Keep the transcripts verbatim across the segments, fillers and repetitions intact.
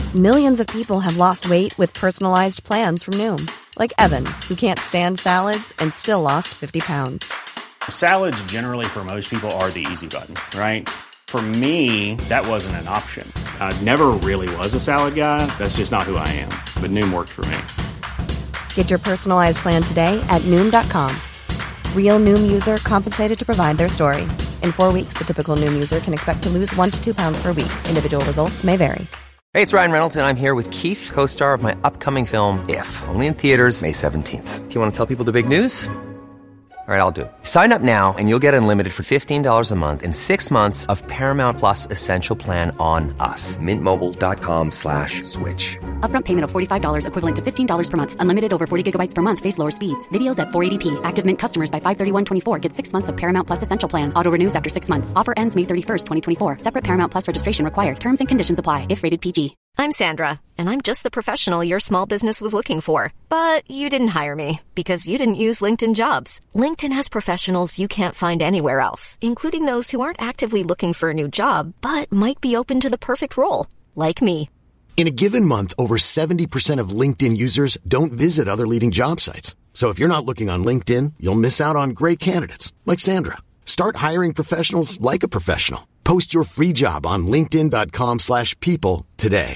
Millions of people have lost weight with personalized plans from Noom. Like Evan, who can't stand salads and still lost fifty pounds. Salads generally for most people are the easy button, right? For me, that wasn't an option. I never really was a salad guy. That's just not who I am. But Noom worked for me. Get your personalized plan today at Noom dot com. Real Noom user compensated to provide their story. In four weeks, the typical Noom user can expect to lose one to two pounds per week. Individual results may vary. Hey, it's Ryan Reynolds, and I'm here with Keith, co-star of my upcoming film, If, only in theaters May seventeenth. Do you want to tell people the big news? All right, I'll do it. Sign up now and you'll get unlimited for fifteen dollars a month and six months of Paramount Plus Essential Plan on us. Mint Mobile dot com slash switch. Upfront payment of forty-five dollars equivalent to fifteen dollars per month. Unlimited over forty gigabytes per month. Face lower speeds. Videos at four eighty p. Active Mint customers by five thirty-one twenty-four get six months of Paramount Plus Essential Plan. Auto renews after six months. Offer ends May thirty-first, twenty twenty-four. Separate Paramount Plus registration required. Terms and conditions apply if rated P G. I'm Sandra, and I'm just the professional your small business was looking for. But you didn't hire me because you didn't use LinkedIn Jobs. LinkedIn has professionals you can't find anywhere else, including those who aren't actively looking for a new job, but might be open to the perfect role, like me. In a given month, over seventy percent of LinkedIn users don't visit other leading job sites. So if you're not looking on LinkedIn, you'll miss out on great candidates like Sandra. Start hiring professionals like a professional. Post your free job on linkedin dot com slash people today.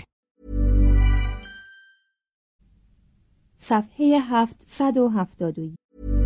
صفحه هفتصد و هفتاد و یک.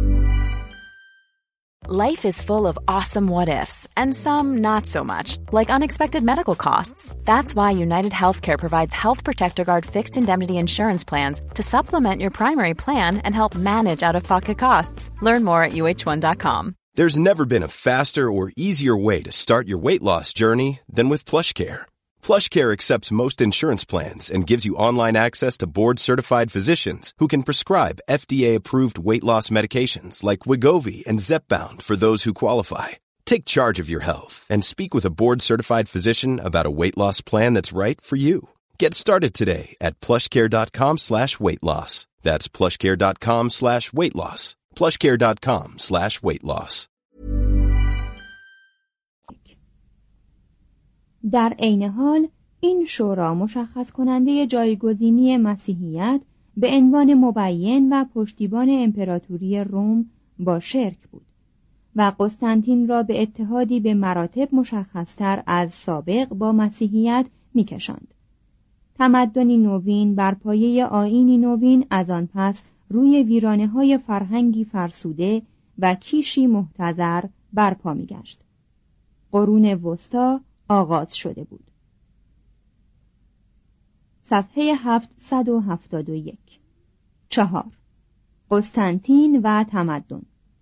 Life is full of awesome what-ifs, and some not so much, like unexpected medical costs. That's why United Healthcare provides Health Protector Guard fixed indemnity insurance plans to supplement your primary plan and help manage out-of-pocket costs. Learn more at U H one dot com. There's never been a faster or easier way to start your weight loss journey than with PlushCare. PlushCare accepts most insurance plans and gives you online access to board-certified physicians who can prescribe F D A-approved weight loss medications like Wegovy and Zepbound for those who qualify. Take charge of your health and speak with a board-certified physician about a weight loss plan that's right for you. Get started today at plushcare dot com slash weight loss. That's plushcare dot com slash weight loss. plushcare dot com slash weight loss. در عین حال این شورا مشخص کننده جایگزینی مسیحیت به عنوان مبین و پشتیبان امپراتوری روم با شرک بود و قسطنطین را به اتحادی به مراتب مشخصتر از سابق با مسیحیت می‌کشاند. تمدنی نوین بر پایه آیینی نوین از آن پس روی ویرانه‌های فرهنگی فرسوده و کیشی محتضر برپا می‌گشت. قرون وسطی آغاز شده بود. صفحه هفتصد و هفتاد و یک. چهار. قسطنطین و تمدن.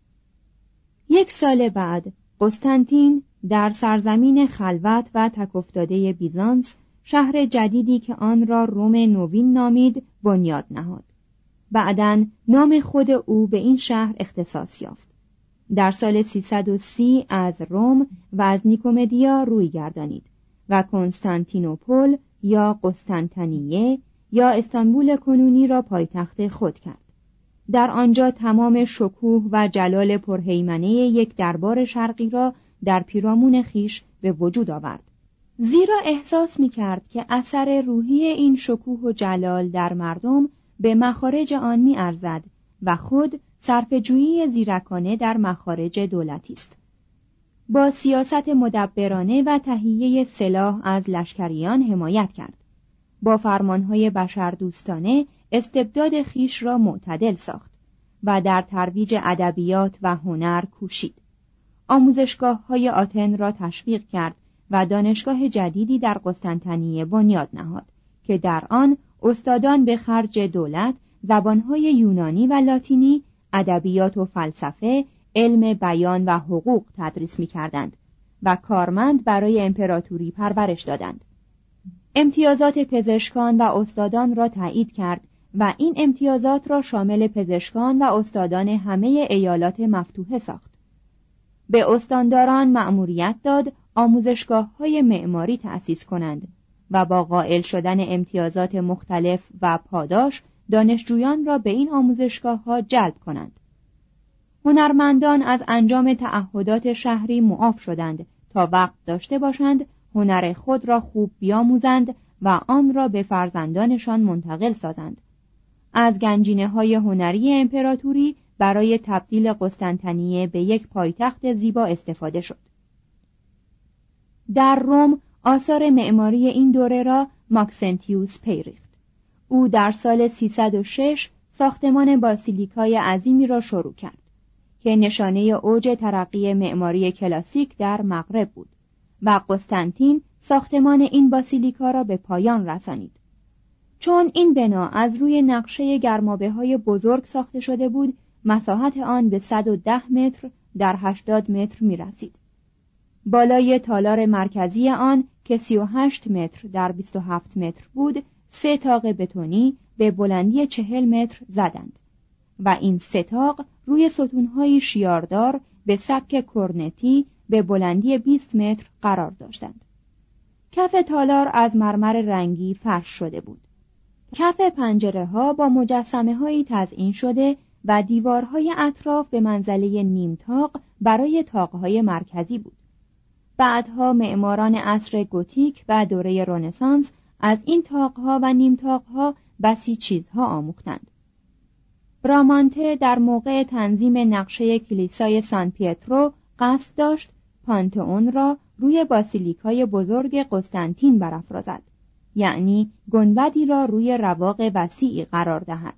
یک سال بعد قسطنطین در سرزمین خلوت و تکافتاده بیزانس شهر جدیدی که آن را روم نوین نامید بنیاد نهاد. بعداً نام خود او به این شهر اختصاص یافت. در سال سیصد و سی از روم و از نیکومدیا روی گردانید و کنستانتینوپل یا قسطنطنیه یا استانبول کنونی را پایتخت خود کرد. در آنجا تمام شکوه و جلال پرهیمنه یک دربار شرقی را در پیرامون خیش به وجود آورد. زیرا احساس می کرد که اثر روحی این شکوه و جلال در مردم به مخارج آن می ارزد و خود صرفه‌جویی زیرکانه در مخارج دولتی است. با سیاست مدبرانه و تهیه سلاح از لشکریان حمایت کرد. با فرمانهای بشردوستانه استبداد خیش را معتدل ساخت و در ترویج ادبیات و هنر کوشید. آموزشگاه‌های آتن را تشویق کرد و دانشگاه جدیدی در قسطنطنیه بنیاد نهاد که در آن استادان به خرج دولت زبانهای یونانی و لاتینی، ادبیات و فلسفه، علم بیان و حقوق تدریس می‌کردند و کارمند برای امپراتوری پرورش دادند. امتیازات پزشکان و استادان را تایید کرد و این امتیازات را شامل پزشکان و استادان همه ایالات مفتوحه ساخت. به استانداران مأموریت داد آموزشگاه‌های معماری تأسیس کنند و با قائل شدن امتیازات مختلف و پاداش دانشجویان را به این آموزشگاه‌ها جلب کنند. هنرمندان از انجام تعهدات شهری معاف شدند تا وقت داشته باشند هنر خود را خوب بیاموزند و آن را به فرزندانشان منتقل سازند. از گنجینه‌های هنری امپراتوری برای تبدیل قسطنطنیه به یک پایتخت زیبا استفاده شد. در روم آثار معماری این دوره را ماکسنتیوس پی ریخت. او در سال سیصد و شش ساختمان باسیلیکای عظیمی را شروع کرد که نشانه اوج ترقی معماری کلاسیک در مغرب بود و قسطنطین ساختمان این باسیلیکا را به پایان رسانید. چون این بنا از روی نقشه گرمابه‌های بزرگ ساخته شده بود، مساحت آن به صد و ده متر در هشتاد متر می رسید. بالای تالار مرکزی آن که سی و هشت متر در بیست و هفت متر بود، سه طاق بتونی به بلندی چهل متر زدند و این سه طاق روی ستون‌های شیاردار به سبک کرنتی به بلندی بیست متر قرار داشتند. کف تالار از مرمر رنگی فرش شده بود. کف پنجره‌ها با مجسمه‌هایی تزئین شده و دیوارهای اطراف به منزله نیم طاق برای طاق‌های مرکزی بود. بعدها معماران عصر گوتیک و دوره رنسانس از این طاق‌ها و نیم طاق‌ها بسی چیزها آموختند. برامانته در موقع تنظیم نقشه کلیسای سان پیترو قصد داشت پانتئون را روی باسیلیکای بزرگ قسطنطین برافرازد، یعنی گنبدی را روی رواق وسیعی قرار دهد.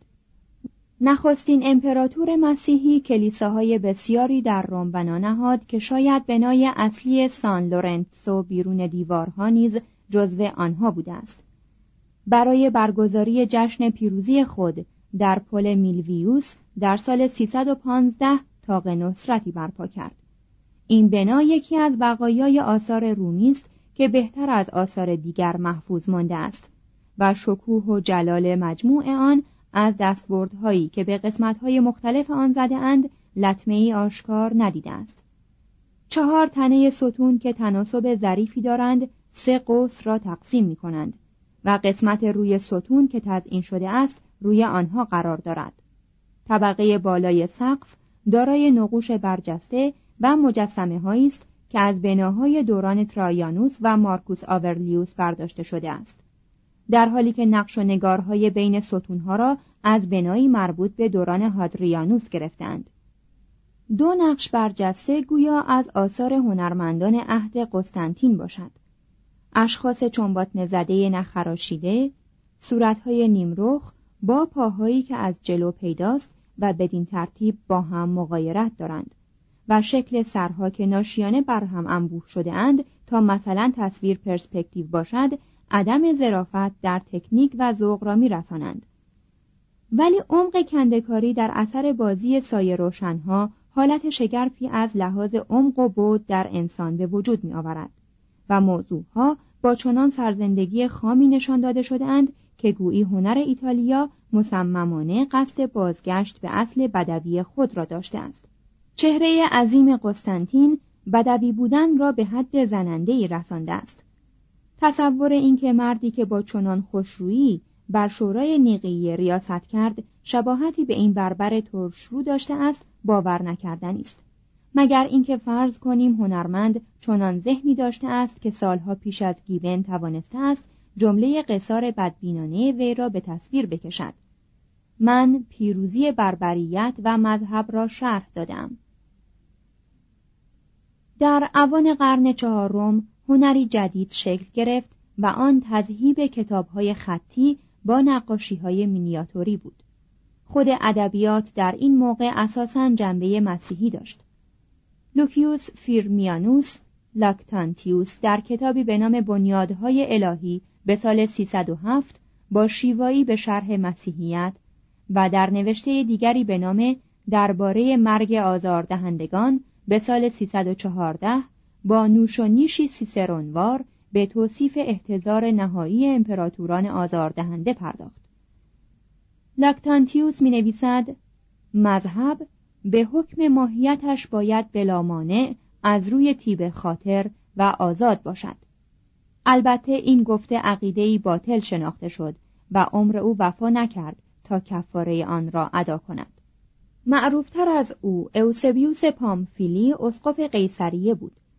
نخستین امپراتور مسیحی کلیساهای بسیاری در روم بنا نهاد که شاید بنای اصلی سان لورنسو بیرون دیوارها نیز جزو آنها بوده است. برای برگزاری جشن پیروزی خود در پل میلویوس در سال سیصد و پانزده طاق نصرتی برپا کرد. این بنا یکی از بقایای آثار رومی است که بهتر از آثار دیگر محفوظ مانده است و شکوه و جلال مجموع آن از دستبردهایی که به قسمت‌های مختلف آن زده اند لطمه‌ای آشکار ندیده است. چهار تنه ستون که تناسب ظریفی دارند سه قوس را تقسیم می‌کنند و قسمت روی ستون که تزئین شده است روی آنها قرار دارد. طبقه بالای سقف دارای نقوش برجسته و مجسمه‌هایی است که از بناهای دوران ترایانوس و مارکوس آورلیوس برداشته شده است، در حالی که نقش و نگارهای بین ستونها را از بنایی مربوط به دوران هادریانوس گرفتند. دو نقش برجسته گویا از آثار هنرمندان عهد قسطنطین باشد. اشخاص چنباتمه زده نخراشیده، صورتهای نیمرخ با پاهایی که از جلو پیداست و بدین ترتیب با هم مغایرت دارند و شکل سرها که ناشیانه بر هم انبوه شده اند تا مثلا تصویر پرسپکتیو باشد، عدم ظرافت در تکنیک و ذوق را می‌رسانند. ولی عمق کنده‌کاری در اثر بازی سایه روشن‌ها حالت شگرفی از لحاظ عمق و بعد در انسان به وجود می‌آورد و موضوعها با چنان سرزندگی خامی نشان داده شده‌اند که گویی هنر ایتالیا مصممانه قصد بازگشت به اصل بدوی خود را داشته است. چهره عظیم قسطنطین بدوی بودن را به حد زننده‌ای رسانده است. تصور اینکه مردی که با چنان خوشرویی بر شورای نیقیه ریاست کرد شباهتی به این بربر ترشرو داشته است باور نکردنی است، مگر اینکه فرض کنیم هنرمند چنان ذهنی داشته است که سالها پیش از گیون توانسته است جمله قصار بدبینانه وی را به تصویر بکشد: من پیروزی بربریت و مذهب را شرح دادم. در اوان قرن چهارم هنری جدید شکل گرفت و آن تذهیب کتاب‌های خطی با نقاشی‌های مینیاتوری بود. خود ادبیات در این موقع اساساً جنبه مسیحی داشت. لوکیوس فیرمیانوس لاکتانتیوس در کتابی به نام بنیادهای الهی به سال سیصد و هفت با شیوایی به شرح مسیحیت و در نوشته دیگری به نام درباره مرگ آزاردهندگان به سال سیصد و چهارده با نوش و نیشی سیسرونوار به توصیف احتضار نهایی امپراتوران آزاردهنده پرداخت. لاکتانتیوس می نویسد: مذهب به حکم ماهیتش باید بلا مانع از روی طیب خاطر و آزاد باشد. البته این گفته عقیده‌ای باطل شناخته شد و عمر او وفا نکرد تا کفاره آن را ادا کند. معروفتر از او اوسبیوس پامفیلی اسقف قیصریه بود.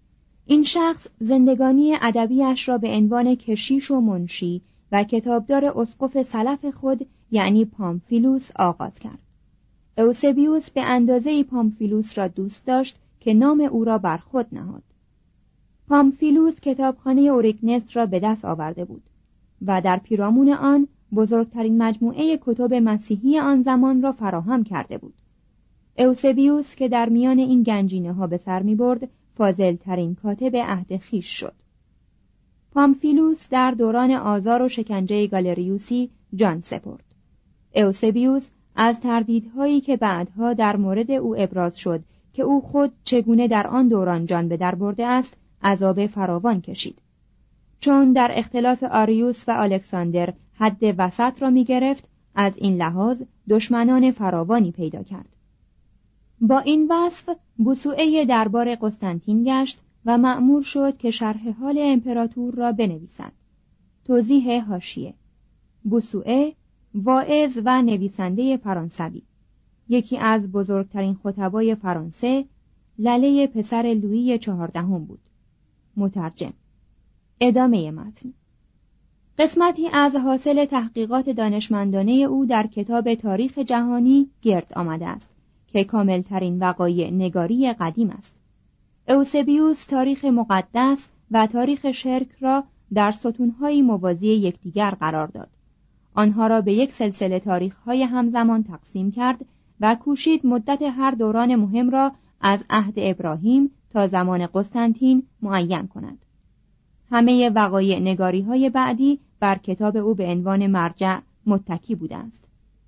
این شخص زندگانی ادبیش را به عنوان کشیش و منشی و کتابدار اسقف سلف خود یعنی پامفیلوس آغاز کرد. اوسبیوس به اندازه‌ای پامفیلوس را دوست داشت که نام او را بر خود نهاد. پامفیلوس کتابخانه اوریگنس را به دست آورده بود و در پیرامون آن بزرگترین مجموعه کتب مسیحی آن زمان را فراهم کرده بود. اوسبیوس که در میان این گنجینه ها به سر می برد، فاضل ترین کاتب عهد خویش شد. پامفیلوس در دوران آزار و شکنجه گالریوسی جان سپرد. اوسبیوس از تردیدهایی که بعدها در مورد او ابراز شد که او خود چگونه در آن دوران جان به در برده است، عذاب فراوان کشید. چون در اختلاف آریوس و الکساندر حد وسط را می گرفت، از این لحاظ دشمنان فراوانی پیدا کرد. با این وصف بوسوئه دربار قسطنطین گشت و مأمور شد که شرح حال امپراتور را بنویسد. توضیح حاشیه: بوسوئه واعظ و نویسنده فرانسوی، یکی از بزرگترین خطبای فرانسه، لله پسر لویی چهاردهم بود. مترجم. ادامه متن. قسمتی از حاصل تحقیقات دانشمندانه او در کتاب تاریخ جهانی گرد آمده است که کاملترین وقایع نگاری قدیم است. اوسبیوس تاریخ مقدس و تاریخ شرک را در ستون‌های موازی یکدیگر قرار داد. آنها را به یک سلسله تاریخ‌های همزمان تقسیم کرد و کوشید مدت هر دوران مهم را از عهد ابراهیم تا زمان قسطنطین معین کند. همه وقایع نگاری‌های بعدی بر کتاب او به عنوان مرجع متکی بوده است.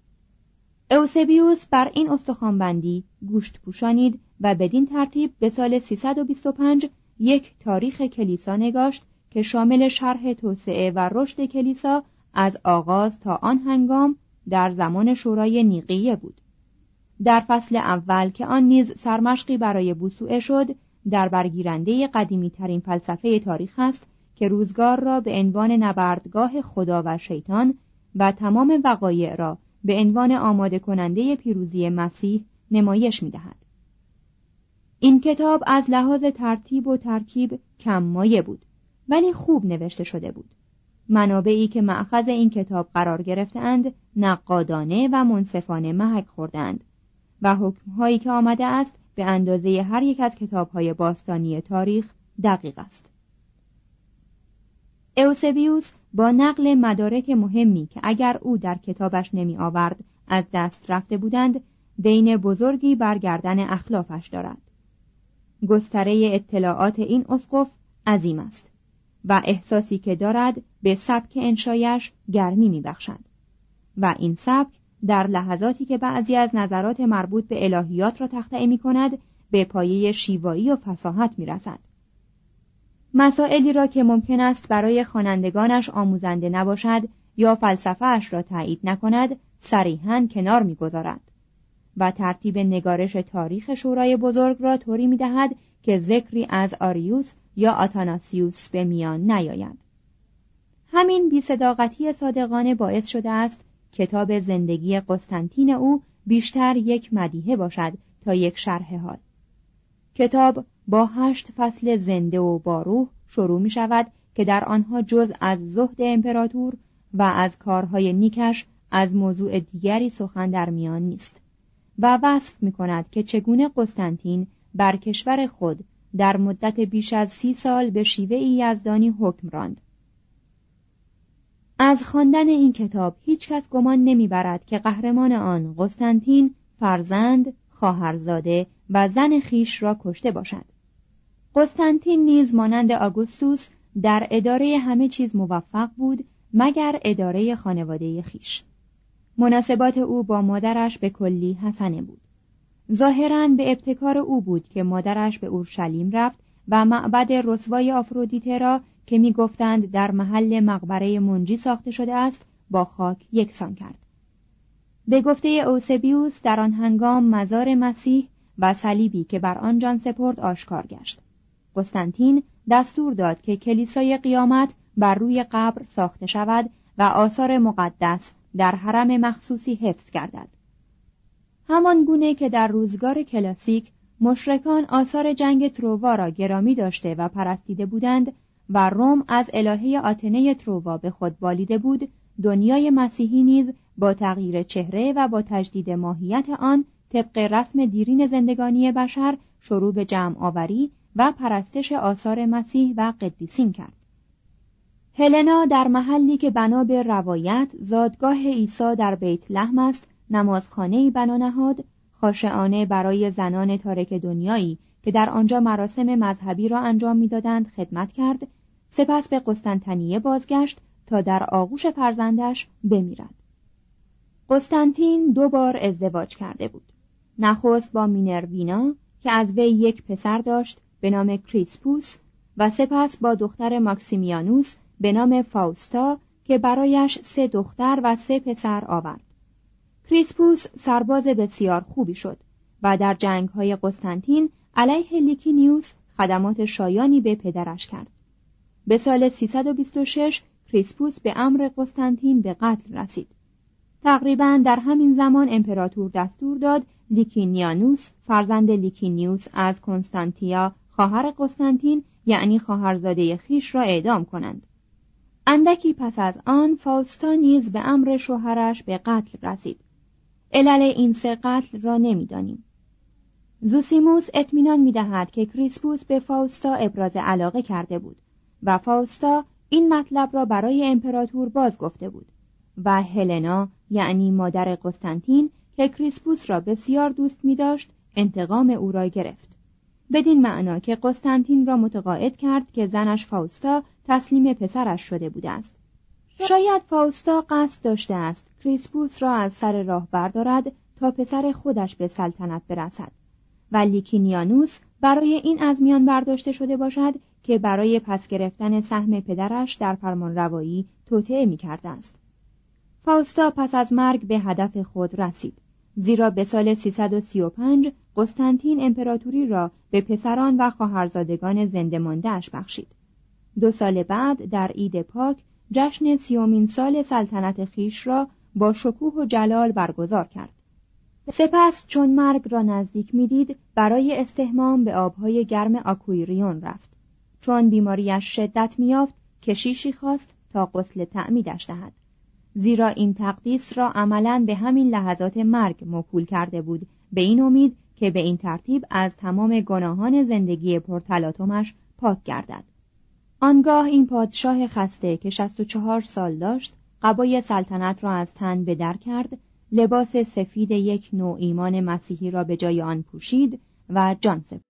اوسبیوس بر این استخوان‌بندی گوشت پوشانید و بدین ترتیب به سال سیصد و بیست و پنج یک تاریخ کلیسا نگاشت که شامل شرح توسعه و رشد کلیسا از آغاز تا آن هنگام در زمان شورای نیقیه بود. در فصل اول که آن نیز سرمشقی برای بوسوئه شد، در برگیرنده قدیمی ترین فلسفه تاریخ است که روزگار را به عنوان نبردگاه خدا و شیطان و تمام وقایع را به عنوان آماده کننده پیروزی مسیح نمایش می‌دهد. این کتاب از لحاظ ترتیب و ترکیب کم مایه بود، ولی خوب نوشته شده بود. منابعی که مأخذ این کتاب قرار گرفتند نقادانه و منصفانه محک خوردند و حکم‌هایی که آمده است به اندازه هر یک از کتاب‌های باستانی تاریخ دقیق است. اوسبیوس با نقل مدارک مهمی که اگر او در کتابش نمی آورد از دست رفته بودند، دین بزرگی بر گردن اخلافش دارد. گستره اطلاعات این اسقف عظیم است و احساسی که دارد به سبک انشایش گرمی می بخشد و این سبک در لحظاتی که بعضی از نظرات مربوط به الهیات را تخطئه می کند به پایه شیوایی و فصاحت می رسد. مسائلی را که ممکن است برای خوانندگانش آموزنده نباشد یا فلسفه اش را تایید نکند صریحاً کنار می‌گذارد و ترتیب نگارش تاریخ شورای بزرگ را طوری می‌دهد که ذکری از آریوس یا آتاناسیوس به میان نیاید. همین بی‌صداقتی صادقانه باعث شده است کتاب زندگی قسطنطین او بیشتر یک مدیحه باشد تا یک شرح حال. کتاب با هشت فصل زنده و باروح شروع می شود که در آنها جز از زهد امپراتور و از کارهای نیکش از موضوع دیگری سخن در میان نیست و وصف می کند که چگونه قسطنطین بر کشور خود در مدت بیش از سی سال به شیوه یزدانی حکم راند. از خواندن این کتاب هیچ کس گمان نمی برد که قهرمان آن قسطنطین فرزند، خواهرزاده و زن خیش را کشته باشد. قسطنطین نیز مانند آگوستوس در اداره همه چیز موفق بود مگر اداره خانواده خیش. مناسبات او با مادرش به کلی حسنه بود. ظاهراً به ابتکار او بود که مادرش به اورشلیم رفت و معبد رسوای آفرودیته را که می گفتند در محل مقبره منجی ساخته شده است با خاک یکسان کرد. به گفته اوسبیوس در آن هنگام مزار مسیح و صلیبی که بر آن جان سپرد آشکار گشت. قسطنطین دستور داد که کلیسای قیامت بر روی قبر ساخته شود و آثار مقدس در حرم مخصوصی حفظ گردد. همان گونه که در روزگار کلاسیک مشرکان آثار جنگ تروا را گرامی داشته و پرستیده بودند و روم از الهه آتنه تروا به خود بالیده بود، دنیای مسیحی نیز با تغییر چهره و با تجدید ماهیت آن طبق رسم دیرین زندگانی بشر شروع به جمع آوری و پرستش آثار مسیح و قدیسین کرد. هلنا در محلی که بنا به روایت زادگاه عیسی در بیت لحم است، نمازخانه‌ای بنا نهاد، خاشعانه برای زنان تارک دنیایی که در آنجا مراسم مذهبی را انجام می‌دادند خدمت کرد، سپس به قسطنطنیه بازگشت تا در آغوش فرزندش بمیرد. قسطنطین دو بار ازدواج کرده بود. نخست با مینروینا که از وی یک پسر داشت به نام کریسپوس و سپس با دختر ماکسیمیانوس به نام فاوستا که برایش سه دختر و سه پسر آورد. کریسپوس سرباز بسیار خوبی شد و در جنگ‌های قسطنطین علیه لیکینیوس خدمات شایانی به پدرش کرد. به سال سیصد و بیست و شش کریسپوس به امر قسطنطین به قتل رسید. تقریباً در همین زمان امپراتور دستور داد لیکینیانوس فرزند لیکینیوس از کنستانتیا خواهر قسطنطین یعنی خواهرزاده خیش را اعدام کنند. اندکی پس از آن فاوستا نیز به امر شوهرش به قتل رسید. علل این سه قتل را نمی‌دانیم. زوسیموس اطمینان می‌دهد که کریسپوس به فاوستا ابراز علاقه کرده بود و فاوستا این مطلب را برای امپراتور باز گفته بود و هلنا یعنی مادر قسطنطین که کریسپوس را بسیار دوست می‌داشت انتقام او را گرفت، بدین معنا که قسطنطین را متقاعد کرد که زنش فاوستا تسلیم پسرش شده بوده است. شاید فاوستا قصد داشته است کریسپوس را از سر راه بردارد تا پسر خودش به سلطنت برسد و لیکینیانوس برای این از میان برداشته شده باشد که برای پس گرفتن سهم پدرش در فرمانروایی توطئه می‌کرده است. فاوستا پس از مرگ به هدف خود رسید، زیرا به سال سیصد و سی و پنج قسطنطین امپراتوری را به پسران و خواهرزادگان زنده مانده‌اش بخشید. دو سال بعد در عید پاک جشن سیومین سال سلطنت خیش را با شکوه و جلال برگزار کرد. سپس چون مرگ را نزدیک می‌دید برای استحمام به آبهای گرم آکویریون رفت. چون بیماریش شدت می‌یافت کشیشی خواست تا غسل تعمیدش دهد، زیرا این تقدیس را عملاً به همین لحظات مرگ موکول کرده بود، به این امید که به این ترتیب از تمام گناهان زندگی پرتلاطمش پاک گردد. آنگاه این پادشاه خسته که شصت و چهار سال داشت قبای سلطنت را از تن به در کرد، لباس سفید یک نوع ایمان مسیحی را به جای آن پوشید و جان سپرد.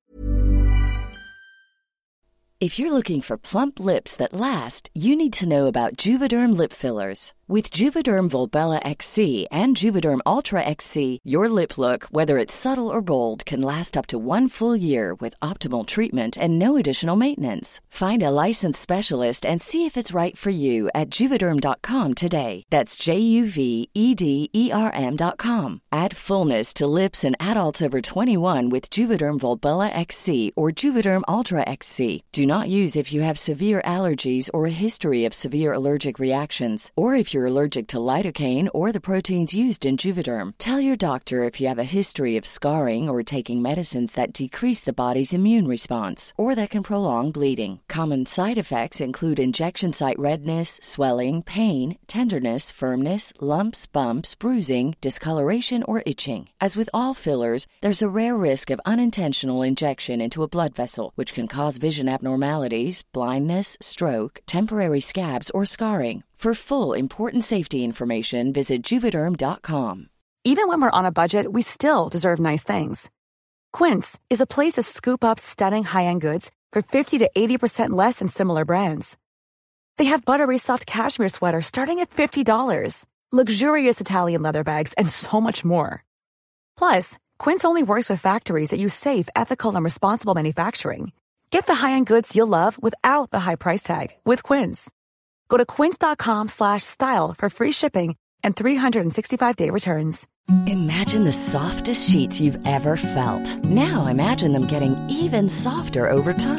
If you're looking for plump lips that last, you need to know about Juvederm lip fillers. With Juvederm Volbella X C and Juvederm Ultra X C, your lip look, whether it's subtle or bold, can last up to one full year with optimal treatment and no additional maintenance. Find a licensed specialist and see if it's right for you at Juvederm dot com today. That's J U V E D E R M dot com. Add fullness to lips in adults over twenty-one with Juvederm Volbella X C or Juvederm Ultra X C. Do not use if you have severe allergies or a history of severe allergic reactions, or if you're allergic to lidocaine or the proteins used in Juvederm. Tell your doctor if you have a history of scarring or taking medicines that decrease the body's immune response or that can prolong bleeding. Common side effects include injection site redness, swelling, pain, tenderness, firmness, lumps, bumps, bruising, discoloration, or itching. As with all fillers, there's a rare risk of unintentional injection into a blood vessel, which can cause vision abnormalities, blindness, stroke, temporary scabs, or scarring. For full, important safety information, visit Juvederm dot com. Even when we're on a budget, we still deserve nice things. Quince is a place to scoop up stunning high-end goods for fifty to eighty percent less than similar brands. They have buttery soft cashmere sweaters starting at fifty dollars, luxurious Italian leather bags, and so much more. Plus, Quince only works with factories that use safe, ethical, and responsible manufacturing. Get the high-end goods you'll love without the high price tag with Quince. Go to quince dot com slash style for free shipping and three hundred sixty-five day returns. Imagine the softest sheets you've ever felt. Now imagine them getting even softer over time.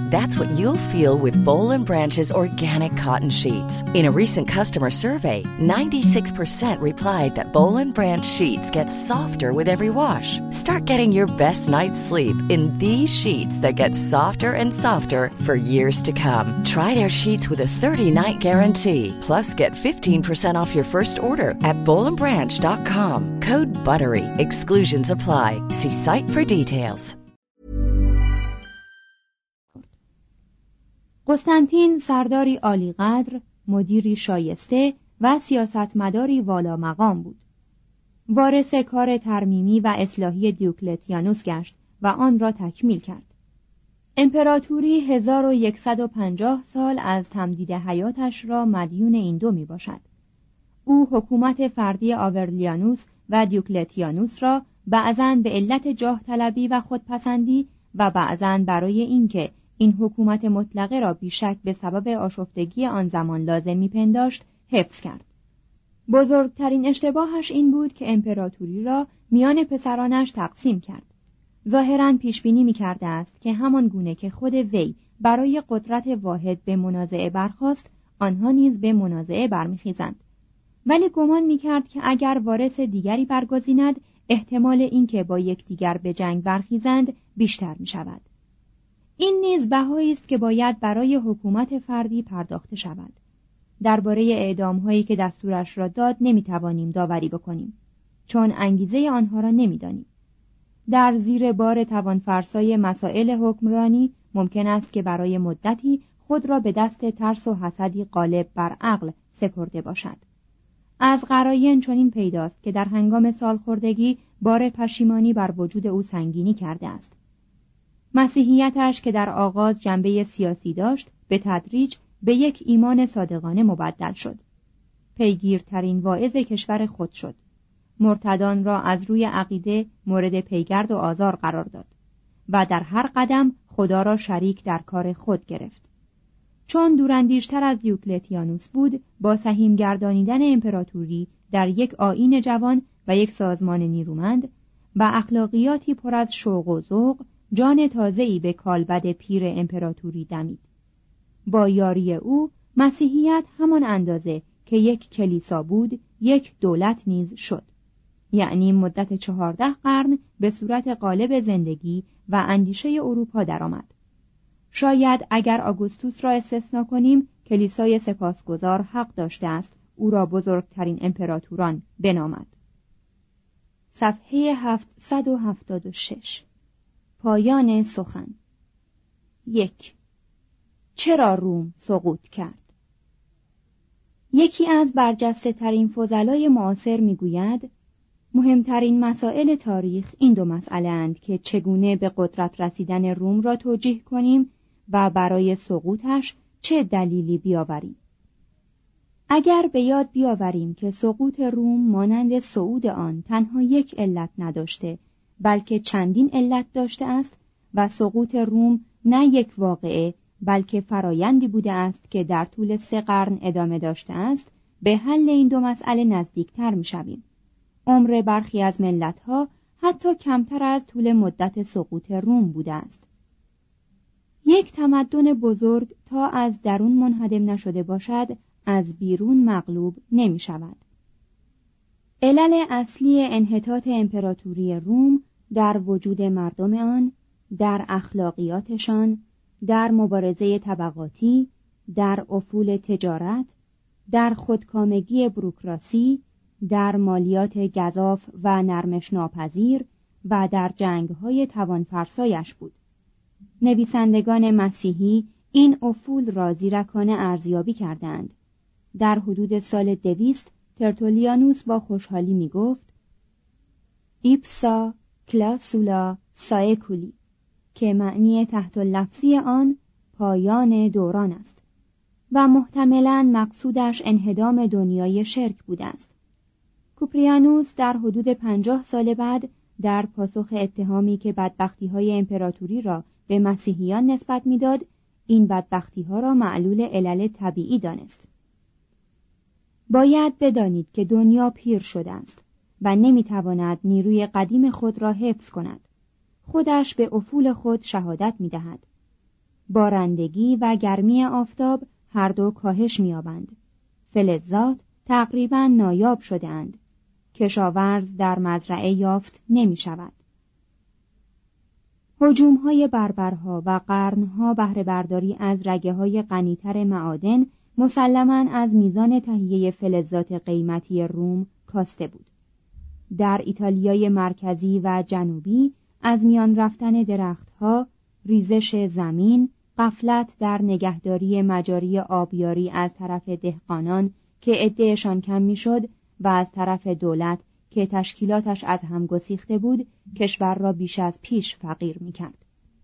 That's what you'll feel with Boll and Branch's organic cotton sheets. In a recent customer survey, ninety-six percent replied that Boll and Branch sheets get softer with every wash. Start getting your best night's sleep in these sheets that get softer and softer for years to come. Try their sheets with a thirty-night guarantee. Plus, get fifteen percent off your first order at boll and branch dot com. Code BUTTERY. Exclusions apply. See site for details. قسطنطین سرداری عالی‌قدر، مدیری شایسته و سیاستمداری والا مقام بود. وارث کار ترمیمی و اصلاحی دیوکلتیانوس گشت و آن را تکمیل کرد. امپراتوری هزار و یکصد و پنجاه سال از تمدید حیاتش را مدیون این دو می باشد. او حکومت فردی آورلیانوس و دیوکلتیانوس را بعضاً به علت جاه طلبی و خودپسندی و بعضاً برای اینکه این حکومت مطلقه را بیشک به سبب آشفتگی آن زمان لازم می‌پنداشت حفظ کرد. بزرگترین اشتباهش این بود که امپراتوری را میان پسرانش تقسیم کرد. ظاهراً پیشبینی می‌کرده است که همان گونه که خود وی برای قدرت واحد به منازعه برخاست، آنها نیز به منازعه برمیخیزند. ولی گمان می‌کرد که اگر وارث دیگری برگزیند، احتمال اینکه با یکدیگر به جنگ برخیزند بیشتر می‌شود. این نیز بهایی است که باید برای حکومت فردی پرداخته شود. درباره اعدام‌هایی که دستورش را داد نمی‌توانیم داوری بکنیم، چون انگیزه آنها را نمی‌دانیم. در زیر بار توانفرسای مسائل حکمرانی ممکن است که برای مدتی خود را به دست ترس و حسدی غالب بر عقل سپرده باشد. از قراین چنین پیداست که در هنگام سالخوردگی بار پشیمانی بر وجود او سنگینی کرده است. مسیحیتش که در آغاز جنبه سیاسی داشت، به تدریج به یک ایمان صادقانه مبدل شد. پیگیرترین واعظ کشور خود شد. مرتدان را از روی عقیده مورد پیگرد و آزار قرار داد و در هر قدم خدا را شریک در کار خود گرفت. چون دوراندیشتر از دیوکلتیانوس بود، با سهیم گردانیدن امپراتوری در یک آیین جوان و یک سازمان نیرومند و اخلاقیاتی پر از شوق و ذوق، جان تازه‌ای به کالبد پیر امپراتوری دمید. با یاری او مسیحیت همان اندازه که یک کلیسا بود، یک دولت نیز شد. یعنی مدت چهارده قرن به صورت غالب زندگی و اندیشه اروپا درآمد. شاید اگر آگوستوس را استثنا کنیم، کلیسای سپاسگزار حق داشته است او را بزرگترین امپراتوران بنامد. صفحه هفتصد و هفتاد و شش. پایان سخن. یک. چرا روم سقوط کرد؟ یکی از برجسته ترین فضلای معاصر میگوید مهمترین مسائل تاریخ این دو مسئله اند که چگونه به قدرت رسیدن روم را توجیه کنیم و برای سقوطش چه دلیلی بیاوریم. اگر به یاد بیاوریم که سقوط روم مانند صعود آن تنها یک علت نداشته، بلکه چندین علت داشته است و سقوط روم نه یک واقعه بلکه فرایندی بوده است که در طول سه قرن ادامه داشته است، به حل این دو مسئله نزدیکتر می‌شویم. عمر برخی از ملت‌ها حتی کمتر از طول مدت سقوط روم بوده است. یک تمدن بزرگ تا از درون منهدم نشده باشد، از بیرون مغلوب نمی‌شود. علل اصلی انحطاط امپراتوری روم در وجود مردم آن، در اخلاقیاتشان، در مبارزه طبقاتی، در افول تجارت، در خودکامگی بوروکراسی، در مالیات گزاف و نرمش ناپذیر و در جنگ‌های توانفرسایش بود. نویسندگان مسیحی این افول را زیرکانه ارزیابی کردند. در حدود سال دویست ترتولیانوس با خوشحالی می گفت ایپسا کلاسولا سایکولی، که معنی تحت لفظی آن پایان دوران است و محتملاً مقصودش انهدام دنیای شرک بوده است. کوپریانوس در حدود پنجاه سال بعد در پاسخ اتهامی که بدبختی‌های امپراتوری را به مسیحیان نسبت می‌داد، این بدبختی‌ها را معلول علل طبیعی دانست. باید بدانید که دنیا پیر شده است و نمی‌تواند نیروی قدیم خود را حفظ کند. خودش به افول خود شهادت می‌دهد. بارندگی و گرمی آفتاب هر دو کاهش می‌یابند. فلزات تقریباً نایاب شده‌اند. کشاورز در مزرعه یافت نمی‌شود. هجوم‌های بربرها و قرنها بهره برداری از رگه‌های غنی‌تر معادن مسلماً از میزان تهیه فلزات قیمتی روم کاسته بود. در ایتالیای مرکزی و جنوبی از میان رفتن درختها، ریزش زمین، غفلت در نگهداری مجاری آبیاری از طرف دهقانان که عده‌شان کم میشد و از طرف دولت که تشکیلاتش از هم گسیخته بود، کشور را بیش از پیش فقیر می‌کرد.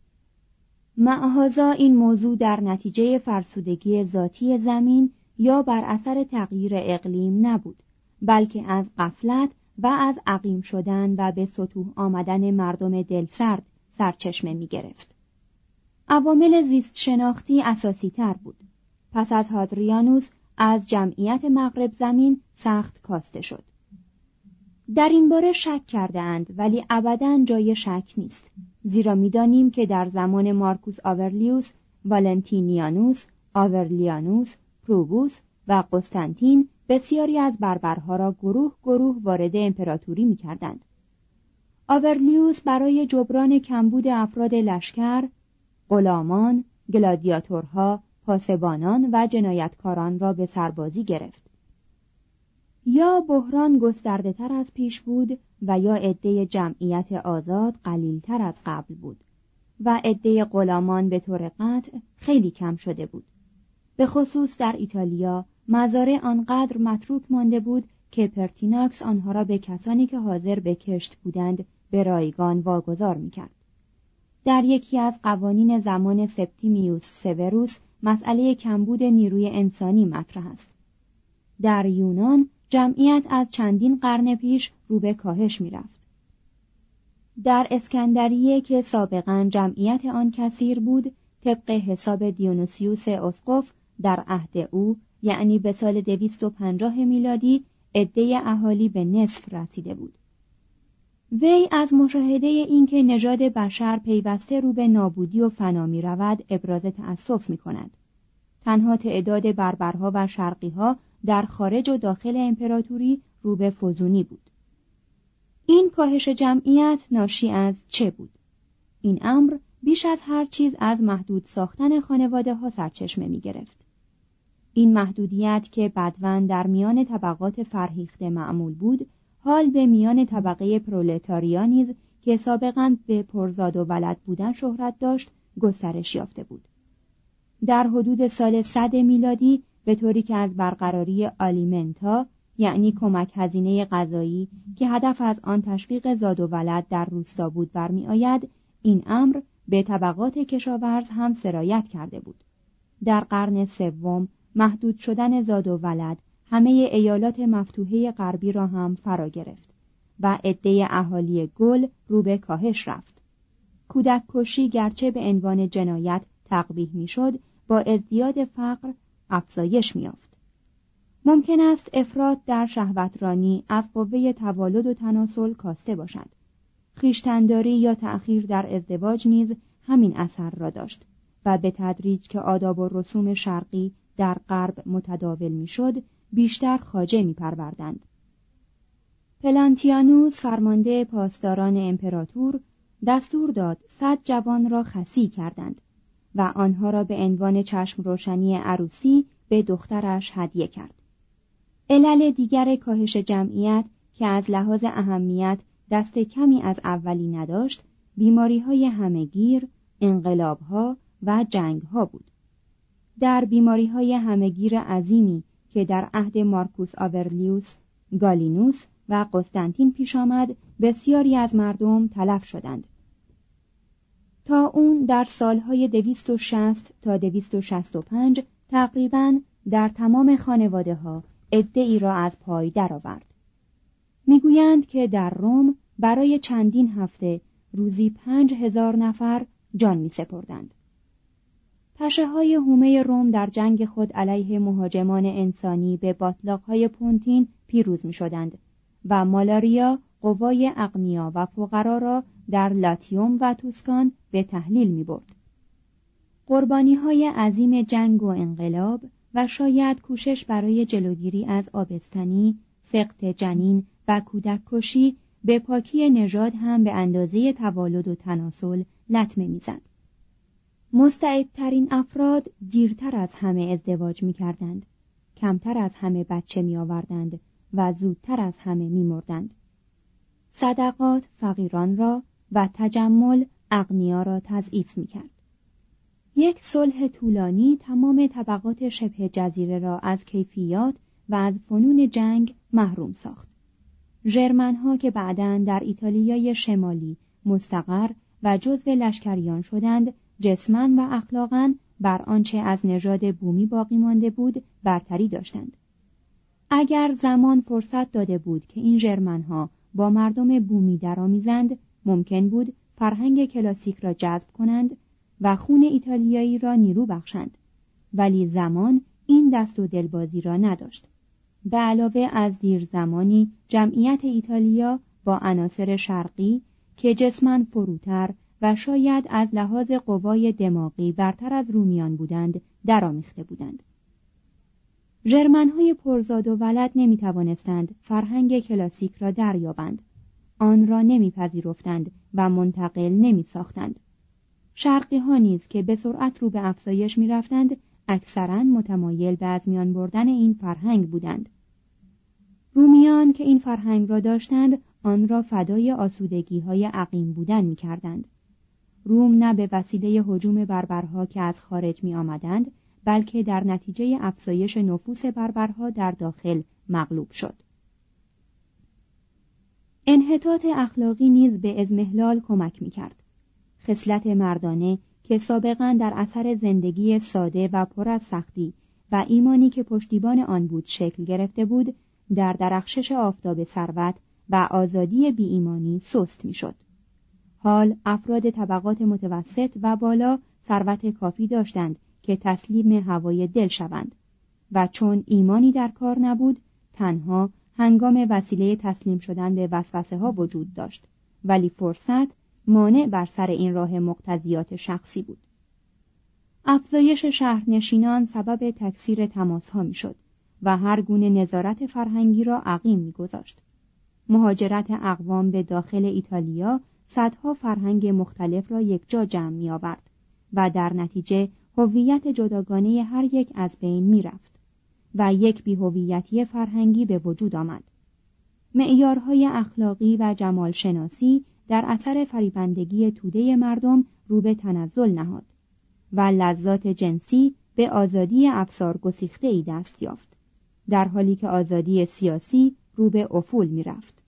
معهازا این موضوع در نتیجه فرسودگی ذاتی زمین یا بر اثر تغییر اقلیم نبود، بلکه از غفلت و از عقیم شدن و به سطوح آمدن مردم دلسرد سرچشمه می‌گرفت. عوامل زیست شناختی اساسی تر بود. پس از هادریانوس از جمعیت مغرب زمین سخت کاسته شد. در این باره شک کرده اند، ولی ابداً جای شک نیست، زیرا می‌دانیم که در زمان مارکوس آورلیوس، والنتینیانوس، آورلیانوس، پروبوس و قسطنطین بسیاری از بربرها را گروه گروه وارد امپراتوری می‌کردند. آورلیوس برای جبران کمبود افراد لشکر، غلامان، گلادیاتورها، پاسبانان و جنایتکاران را به سربازی گرفت. یا بحران گسترده تر از پیش بود و یا عده جمعیت آزاد قلیل تر از قبل بود و عده غلامان به طور قطع خیلی کم شده بود. به خصوص در ایتالیا مزارع آنقدر متروک مانده بود که پرتیناکس آنها را به کسانی که حاضر به کشت بودند به رایگان واگذار می‌کرد. در یکی از قوانین زمان سپتیمیوس سوروس مسئله کمبود نیروی انسانی مطرح است. در یونان جمعیت از چندین قرن پیش رو به کاهش می‌رفت. در اسکندریه که سابقاً جمعیت آن کثیر بود، طبق حساب دیونوسیوس اسقف در عهد او، یعنی به سال دویست و پنجاه میلادی، عده اهالی به نصف رسیده بود. وی از مشاهده اینکه نژاد بشر پیوسته رو به نابودی و فنا می رود ابراز تأسف می کند. تنها تعداد بربرها و شرقیها در خارج و داخل امپراتوری رو به فزونی بود. این کاهش جمعیت ناشی از چه بود؟ این امر بیش از هر چیز از محدود ساختن خانواده ها سرچشمه می گرفت. این محدودیت که بدواً در میان طبقات فرهیخته معمول بود، حال به میان طبقه پرولتاریا نیز که سابقاً به پرزاد و ولد بودن شهرت داشت گسترش یافته بود. در حدود سال صد میلادی به طوری که از برقراری آلیمنتا، یعنی کمک هزینه غذایی که هدف از آن تشویق زاد و ولد در روستا بود برمی آید، این امر به طبقات کشاورز هم سرایت کرده بود. در قرن سوم محدود شدن زاد و ولد همه ایالات مفتوحه غربی را هم فرا گرفت و عده اهالی گل رو به کاهش رفت. کودک کشی گرچه به عنوان جنایت تقبیح میشد، با ازدیاد فقر افزایش می‌یافت. ممکن است افراط در شهوترانی از قوه توالد و تناسل کاسته باشد. خویشتن‌داری یا تأخیر در ازدواج نیز همین اثر را داشت و به تدریج که آداب و رسوم شرقی در غرب متداول میشد، بیشتر خواجه می‌پروردند. پلانتیانوس فرمانده پاسداران امپراتور دستور داد صد جوان را خصی کردند و آنها را به عنوان چشم روشنی عروسی به دخترش هدیه کرد. علل دیگر کاهش جمعیت که از لحاظ اهمیت دست کمی از اولی نداشت، بیماری‌های همه‌گیر، انقلاب‌ها و جنگ‌ها بود. در بیماری‌های همه‌گیر عظیمی که در عهد مارکوس آورلیوس، گالینوس و قسطنطین پیش آمد، بسیاری از مردم تلف شدند. تا اون در سالهای دویست و شصت تا دویست و شصت و پنج تقریباً در تمام خانواده‌ها عده‌ای را از پای درآورد. میگویند که در روم برای چندین هفته روزی پنج هزار نفر جان می سپردند. پشه‌های هومه روم در جنگ خود علیه مهاجمان انسانی به باطلاق‌های پونتین پیروز می شدند و مالاریا قوای اغنیا و فقرا را در لاتیوم و توسکان به تحلیل می برد. قربانی‌های عظیم جنگ و انقلاب و شاید کوشش برای جلوگیری از آبستنی، سقط جنین و کودک کشی به پاکی نژاد هم به اندازه توالد و تناسل لطمه می‌زد. مستعدترین افراد دیرتر از همه ازدواج می‌کردند، کمتر از همه بچه می‌آوردند و زودتر از همه می‌مردند. صدقات فقیران را و تجمل اغنیا را تضعیف می‌کرد. یک صلح طولانی تمام طبقات شبه جزیره را از کیفیات و از فنون جنگ محروم ساخت. ژرمن‌ها که بعداً در ایتالیای شمالی مستقر و جزو لشکریان شدند، جسماً و اخلاقاً بر آنچه از نژاد بومی باقی مانده بود برتری داشتند. اگر زمان فرصت داده بود که این ژرمن‌ها با مردم بومی درآمیزند، ممکن بود فرهنگ کلاسیک را جذب کنند و خون ایتالیایی را نیرو بخشند، ولی زمان این دست و دلبازی را نداشت. به علاوه از دیر زمانی جمعیت ایتالیا با عناصر شرقی که جسماً فروتر و شاید از لحاظ قوای دماغی برتر از رومیان بودند درآمیخته بودند. ژرمن‌های پرزاد و ولد نمی‌توانستند فرهنگ کلاسیک را دریابند، آن را نمی‌پذیرفتند و منتقل نمی‌ساختند. شرقی‌ها نیز که به سرعت رو به افزایش می‌رفتند، اکثراً متمایل به از میان بردن این فرهنگ بودند. رومیان که این فرهنگ را داشتند، آن را فدای آسودگی‌های عقیم بودن می‌کردند. روم نه به وسیله هجوم بربرها که از خارج می‌آمدند، بلکه در نتیجه افزایش نفوذ بربرها در داخل مغلوب شد. انحطاط اخلاقی نیز به اضمحلال کمک می‌کرد. خصلت مردانه که سابقاً در اثر زندگی ساده و پر از سختی و ایمانی که پشتیبان آن بود شکل گرفته بود، در درخشش آفتاب ثروت و آزادی بی ایمانی سست می‌شد. حال افراد طبقات متوسط و بالا ثروت کافی داشتند که تسلیم هوای دل شوند و چون ایمانی در کار نبود، تنها هنگام وسیله تسلیم شدن به وسوسه ها وجود داشت، ولی فرصت مانع بر سر این راه مقتضیات شخصی بود. افزایش شهرنشینان سبب تکثیر تماس‌ها می‌شد و هر گونه نظارت فرهنگی را عقیم می‌گذاشت. مهاجرت اقوام به داخل ایتالیا صدها فرهنگ مختلف را یکجا جمع می‌آورد و در نتیجه هویت جداگانه هر یک از بین می‌رفت و یک بی‌هویتی فرهنگی به وجود آمد. معیارهای اخلاقی و جمال شناسی در اثر فریبندگی توده مردم رو به تنزل نهاد و لذات جنسی به آزادی افسار گسیخته‌ای دست یافت، در حالی که آزادی سیاسی رو به افول می‌رفت.